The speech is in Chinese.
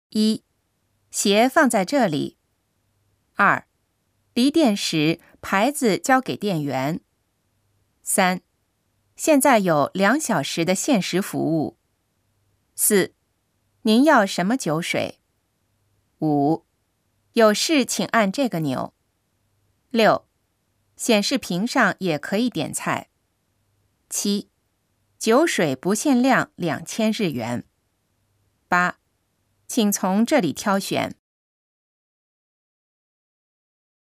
1. 鞋放在这里。2. 离店时牌子交给店员。3. 现在有2小时的限时服务。4. 您要什么酒水？ 5. 有事请按这个钮。6. 显示屏上也可以点菜。7. 酒水不限量2000日元。8. 请从这里挑选。